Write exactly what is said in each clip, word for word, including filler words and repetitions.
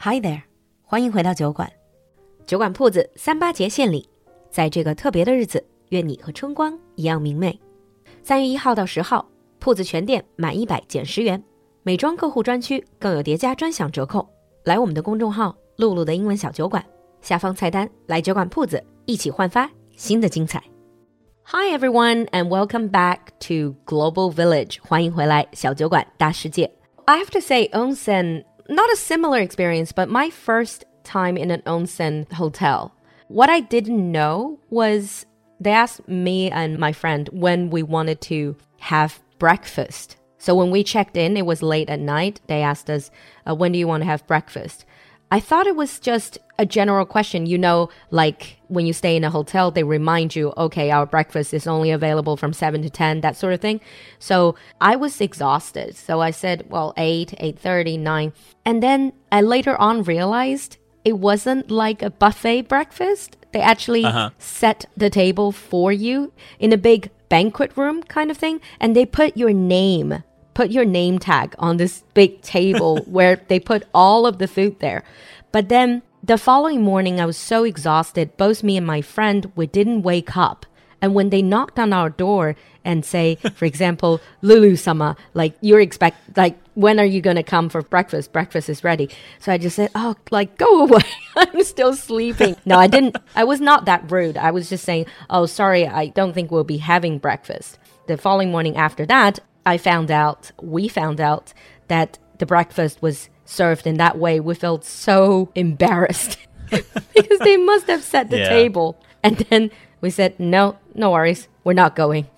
Hi there， 欢迎回到酒馆。酒馆铺子三八节献礼，在这个特别的日子，愿你和春光一样明媚。三月一号到十号，铺子全店满一百减十元，美妆客户专区更有叠加专享折扣。来我们的公众号“露露的英文小酒馆”，下方菜单来酒馆铺子一起焕发新的精彩。Hi everyone and welcome back to Global Village. 欢迎回来小酒馆大世界。I have to say, onsen, not a similar experience, but my first time in an onsen hotel. What I didn't know was they asked me and my friend when we wanted to have breakfast. So when we checked in, it was late at night. They asked us, uh, when do you want to have breakfast? I thought it was just a general question. You know, like when you stay in a hotel, they remind you, okay, our breakfast is only available from seven to ten, that sort of thing. So I was exhausted. So I said, well, eight, eight thirty, nine. And then I later on realized it wasn't like a buffet breakfast. They actually uh-huh. set the table for you in a big banquet room kind of thing. And they put your name put your name tag on this big table where they put all of the food there. But then the following morning, I was so exhausted. Both me and my friend, we didn't wake up. And when they knocked on our door and say, for example, Lulu-sama, like you're expect, like, when are you going to come for breakfast? Breakfast is ready. So I just said, oh, like, go away. I'm still sleeping. No, I didn't. I was not that rude. I was just saying, oh, sorry, I don't think we'll be having breakfast. The following morning after that, I found out, we found out that the breakfast was served in that way. We felt so embarrassed because they must have set the yeah. table. And then we said, no, no worries. We're not going.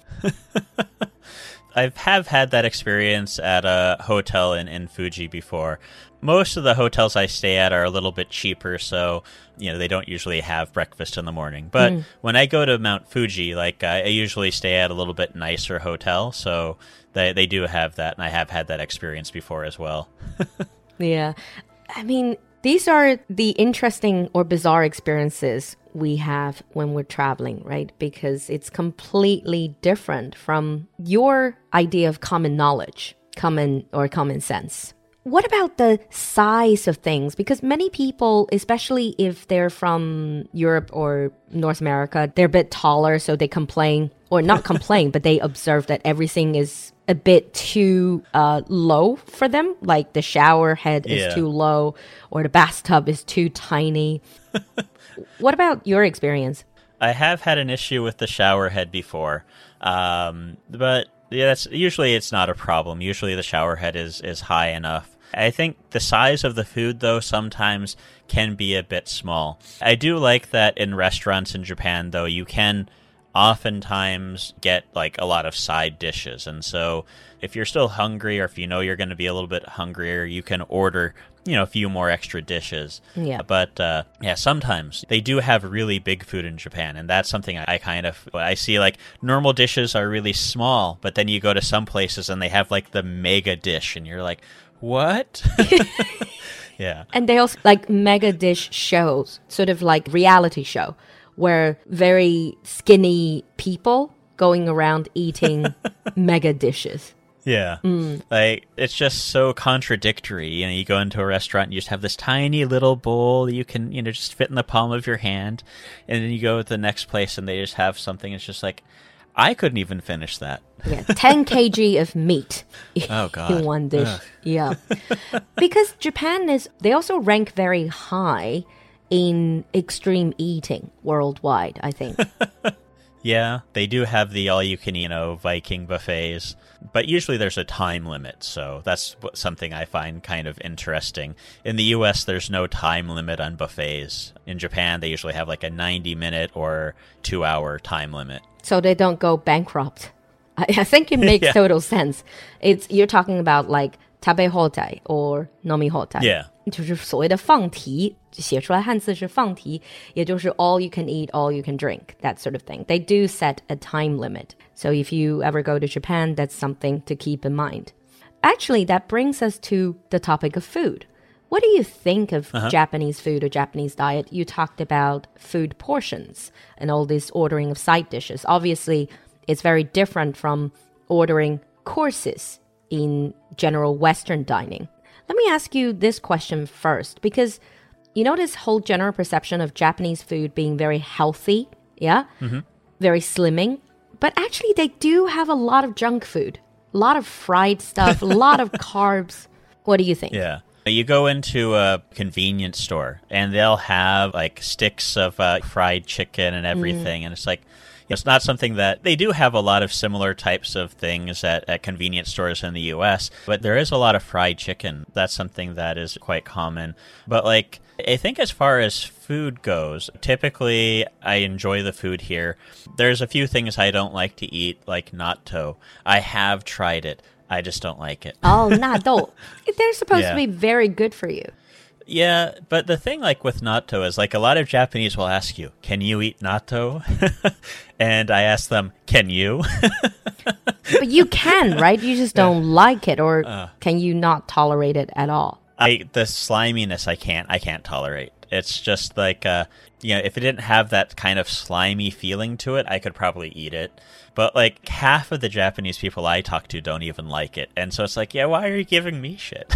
I have had that experience at a hotel in, in Fuji before. Most of the hotels I stay at are a little bit cheaper, so you know they don't usually have breakfast in the morning. But mm. when I go to Mount Fuji, like I, I usually stay at a little bit nicer hotel, so they they do have that, and I have had that experience before as well. Yeah, I mean, these are the interesting or bizarre experiences we have when we're traveling, right? Because it's completely different from your idea of common knowledge, common or common sense. What about the size of things? Because many people, especially if they're from Europe or North America, they're a bit taller, so they complain, or not complain, but they observe that everything is a bit too uh, low for them. Like the shower head is yeah. too low, or the bathtub is too tiny. What about your experience? I have had an issue with the shower head before, um, but yeah, that's usually it's not a problem. Usually the shower head is, is high enough. I think the size of the food, though, sometimes can be a bit small. I do like that in restaurants in Japan, though, you can oftentimes get like a lot of side dishes. And so if you're still hungry or if you know you're going to be a little bit hungrier, you can order, you know, a few more extra dishes. Yeah. But uh, yeah, sometimes they do have really big food in Japan. And that's something I kind of, I see like normal dishes are really small, but then you go to some places and they have like the mega dish and you're like, what? Yeah. And they also like mega dish shows, sort of like reality show, where very skinny people going around eating mega dishes. Yeah. Mm. Like, it's just so contradictory. You know, you go into a restaurant and you just have this tiny little bowl that you can, you know, just fit in the palm of your hand. And then you go to the next place and they just have something. It's just like, I couldn't even finish that. Yeah, ten kilograms of meat oh, God. in one dish. Ugh. Yeah. Because Japan is, they also rank very high in extreme eating worldwide, I think. Yeah, they do have the all-you-can-eat, you know, Viking buffets, but usually there's a time limit, so that's something I find kind of interesting. In the U S, there's no time limit on buffets. In Japan, they usually have like a ninety-minute or two-hour time limit. So they don't go bankrupt. I, I think it makes yeah. total sense. It's you're talking about like tabehotai or nomihotai. Yeah. 就是所谓的放题，写出来汉字是放题，也就是 all you can eat, all you can drink, that sort of thing. They do set a time limit. So if you ever go to Japan, that's something to keep in mind. Actually, that brings us to the topic of food. What do you think of uh-huh. Japanese food or Japanese diet? You talked about food portions and all this ordering of side dishes. Obviously, it's very different from ordering courses in general Western dining. Let me ask you this question first, because you know this whole general perception of Japanese food being very healthy, yeah? Mm-hmm. Very slimming. But actually, they do have a lot of junk food, a lot of fried stuff, a lot of carbs. What do you think? Yeah. You go into a convenience store and they'll have like sticks of uh, fried chicken and everything. Mm. And it's like, it's not something that they do have a lot of similar types of things at, at convenience stores in the U S, but there is a lot of fried chicken. That's something that is quite common. But like, I think as far as food goes, typically I enjoy the food here. There's a few things I don't like to eat, like natto. I have tried it. I just don't like it. Oh, natto. They're supposed yeah. to be very good for you. Yeah, but the thing like with natto is like a lot of Japanese will ask you, can you eat natto? And I ask them, can you? But you can, right? You just don't yeah. like it, or uh, can you not tolerate it at all? I the sliminess I can't I can't tolerate. It's just like uh you know, if it didn't have that kind of slimy feeling to it, I could probably eat it. But like half of the Japanese people I talk to don't even like it. And so it's like, yeah, why are you giving me shit?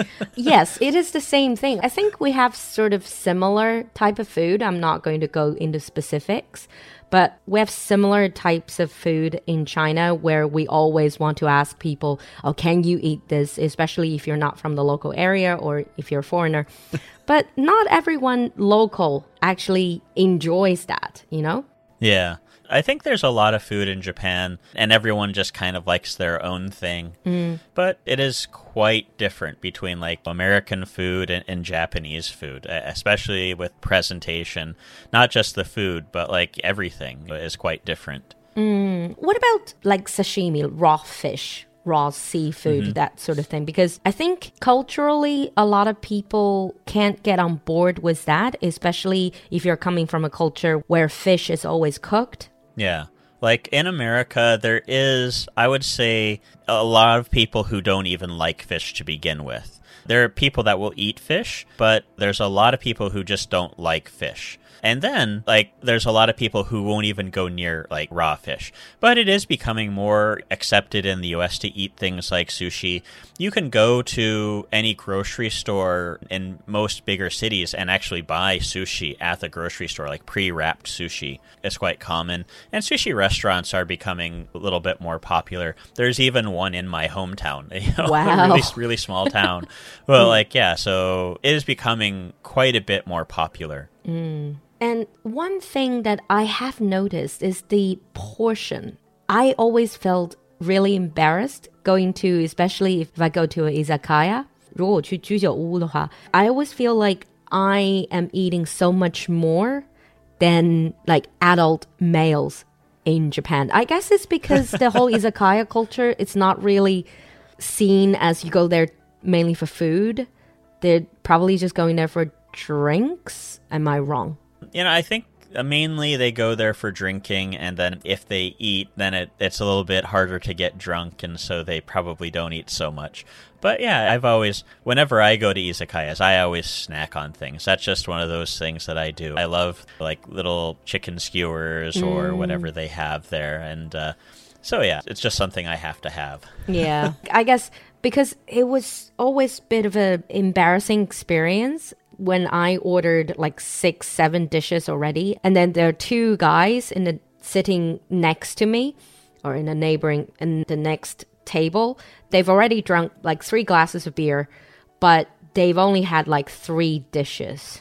Yes, it is the same thing. I think we have sort of similar type of food. I'm not going to go into specifics, but we have similar types of food in China where we always want to ask people, oh, can you eat this? Especially if you're not from the local area or if you're a foreigner. But not everyone local actually enjoys that, you know? Yeah. I think there's a lot of food in Japan, and everyone just kind of likes their own thing. Mm. But it is quite different between like American food and, and Japanese food, especially with presentation. Not just the food, but like everything is quite different. Mm. What about like sashimi, raw fish? Raw seafood, mm-hmm. that sort of thing. Because I think culturally, a lot of people can't get on board with that, especially if you're coming from a culture where fish is always cooked. Yeah. Like in America, there is, I would say, a lot of people who don't even like fish to begin with. There are people that will eat fish, but there's a lot of people who just don't like fish. And then, like, there's a lot of people who won't even go near, like, raw fish. But it is becoming more accepted in the U S to eat things like sushi. You can go to any grocery store in most bigger cities and actually buy sushi at the grocery store, like pre-wrapped sushi. It's quite common. And sushi restaurants are becoming a little bit more popular. There's even one in my hometown. You know, wow. A really, really small town. Well, like, yeah, so it is becoming quite a bit more popular. Mm. And one thing that I have noticed is the portion. I always felt really embarrassed going to, especially if I go to an izakaya. 如果我去居酒屋的话, I always feel like I am eating so much more than like adult males in Japan. I guess it's because the whole izakaya culture, it's not really seen as you go there mainly for food. They're probably just going there for drinks. Am I wrong? You know, I think mainly they go there for drinking, and then if they eat, then it, it's a little bit harder to get drunk, and so they probably don't eat so much. But yeah, I've always, whenever I go to izakayas, I always snack on things. That's just one of those things that I do. I love like little chicken skewers or mm. whatever they have there, and uh, so yeah, it's just something I have to have. Yeah, I guess because it was always a bit of an embarrassing experience when I ordered like six, seven dishes already. And then there are two guys in the sitting next to me or in a neighboring, in the next table. They've already drunk like three glasses of beer, but they've only had like three dishes.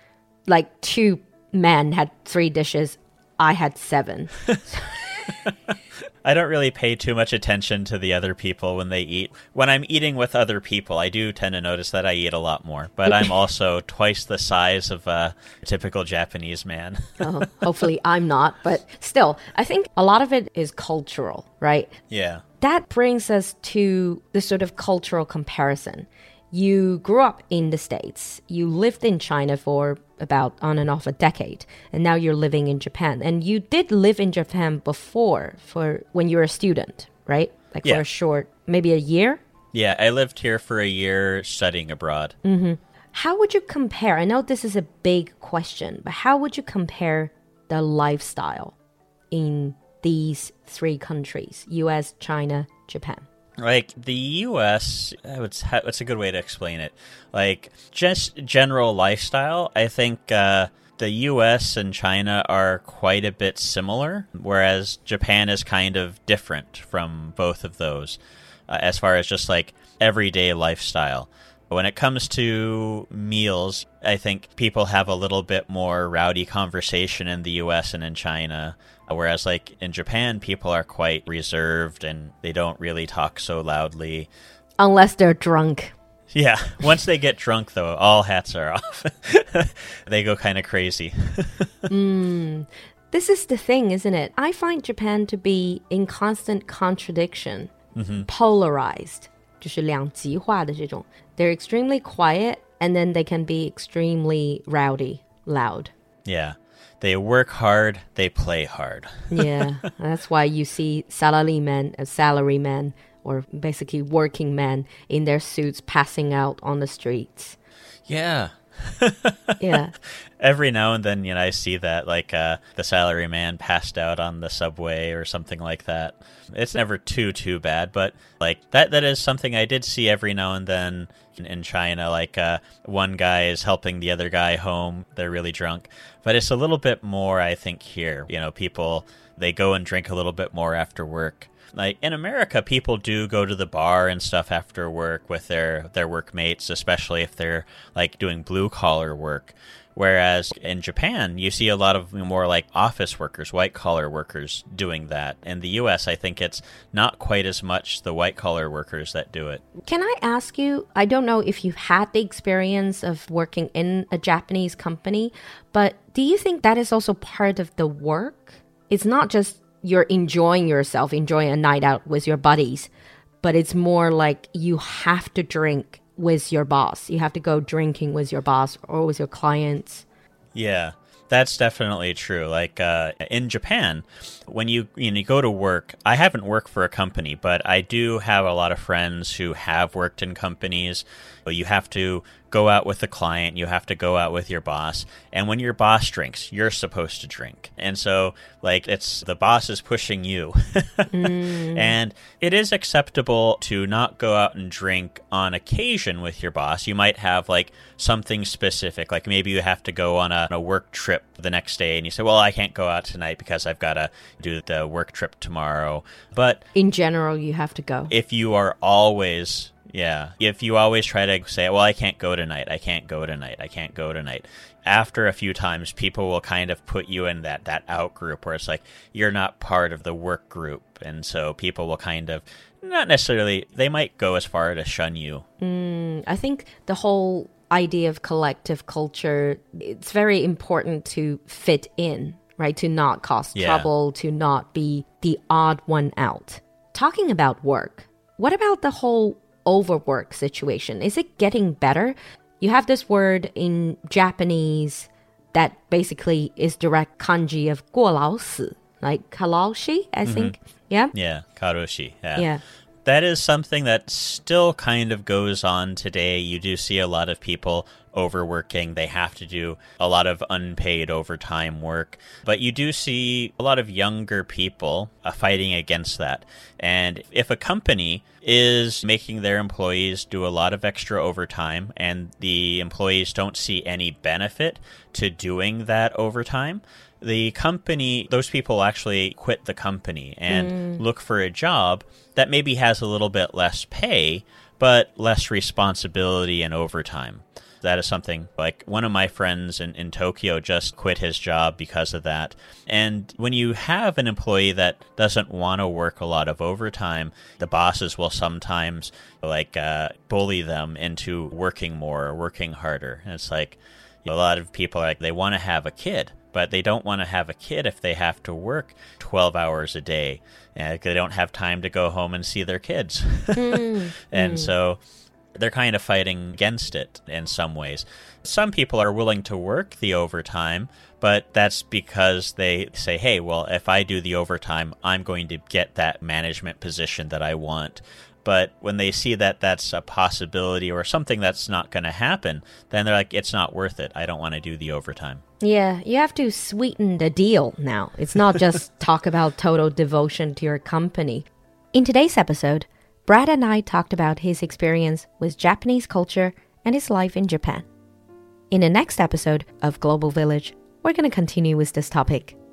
Like two men had three dishes. I had seven. I don't really pay too much attention to the other people when they eat. When I'm eating with other people, I do tend to notice that I eat a lot more. But I'm also twice the size of a typical Japanese man. Oh, hopefully I'm not. But still, I think a lot of it is cultural, right? Yeah. That brings us to the sort of cultural comparison. You grew up in the States. You lived in China for about on and off a decade. And now you're living in Japan. And you did live in Japan before for when you were a student, right? Like yeah. for a short, maybe a year? Yeah, I lived here for a year studying abroad. Mm-hmm. How would you compare? I know this is a big question, but how would you compare the lifestyle in these three countries, U S, China, Japan? Like, the U S, it's, it's a good way to explain it. Like, just general lifestyle, I think uh, the U S and China are quite a bit similar, whereas Japan is kind of different from both of those uh, as far as just, like, everyday lifestyle. When it comes to meals, I think people have a little bit more rowdy conversation in the U S and in China, whereas like in Japan, people are quite reserved and they don't really talk so loudly. Unless they're drunk. Yeah, once they get drunk, though, all hats are off. They go kind of crazy. mm. This is the thing, isn't it? I find Japan to be in constant contradiction, mm-hmm. polarized. 就是两极化的这种. They're extremely quiet, and then they can be extremely rowdy, loud. Yeah. They work hard, they play hard. Yeah, that's why you see salarymen, uh, salarymen, or basically working men in their suits passing out on the streets. Yeah. Yeah. Every now and then, you know, I see that, like uh, the salaryman passed out on the subway or something like that. It's never too, too bad, but like that that is something I did see every now and then in, in China. Like uh, one guy is helping the other guy home. They're really drunk. But it's a little bit more, I think, here. You know, people, they go and drink a little bit more after work. Like in America, people do go to the bar and stuff after work with their, their workmates, especially if they're like doing blue collar work. Whereas in Japan, you see a lot of more like office workers, white collar workers doing that. In the U S, I think it's not quite as much the white collar workers that do it. Can I ask you, I don't know if you've had the experience of working in a Japanese company, but do you think that is also part of the work? It's not just you're enjoying yourself, enjoying a night out with your buddies, but it's more like you have to drink with your boss. You have to go drinking with your boss or with your clients. Yeah, that's definitely true. Like uh, in Japan, when you, you know, you go to work, I haven't worked for a company, but I do have a lot of friends who have worked in companies. You have to go out with the client, you have to go out with your boss, and when your boss drinks, you're supposed to drink. And so, like, it's the boss is pushing you. mm. And it is acceptable to not go out and drink on occasion with your boss. You might have, like, something specific, like maybe you have to go on a, on a work trip the next day, and you say, well, I can't go out tonight because I've got to do the work trip tomorrow. But in general, you have to go. If you are always... Yeah, if you always try to say, well, I can't go tonight, I can't go tonight, I can't go tonight. After a few times, people will kind of put you in that, that out group where it's like, you're not part of the work group. And so people will kind of, not necessarily, they might go as far to shun you. Mm, I think the whole idea of collective culture, it's very important to fit in, right? To not cause yeah. trouble, to not be the odd one out. Talking about work, what about the whole overwork situation? Is it getting better? You have this word in Japanese that basically is direct kanji of 过劳死, like kalaoshi, I think. Mm-hmm. Yeah? Yeah, karoshi. Yeah. yeah. That is something that still kind of goes on today. You do see a lot of people overworking. They have to do a lot of unpaid overtime work. But you do see a lot of younger people uh, fighting against that. And if a company is making their employees do a lot of extra overtime and the employees don't see any benefit to doing that overtime, the company, those people actually quit the company and mm. look for a job that maybe has a little bit less pay, but less responsibility and overtime. That is something like one of my friends in, in Tokyo just quit his job because of that. And when you have an employee that doesn't want to work a lot of overtime, the bosses will sometimes like uh, bully them into working more or working harder. And it's like you know, a lot of people are like they want to have a kid, but they don't want to have a kid if they have to work twelve hours a day. And they don't have time to go home and see their kids. mm, and mm. so they're kind of fighting against it in some ways. Some people are willing to work the overtime, but that's because they say, hey, well, if I do the overtime, I'm going to get that management position that I want. But when they see that that's a possibility or something that's not going to happen, then they're like, it's not worth it. I don't want to do the overtime. Yeah, you have to sweeten the deal now. It's not just talk about total devotion to your company. In today's episode, Brad and I talked about his experience with Japanese culture and his life in Japan. In the next episode of Global Village, we're going to continue with this topic.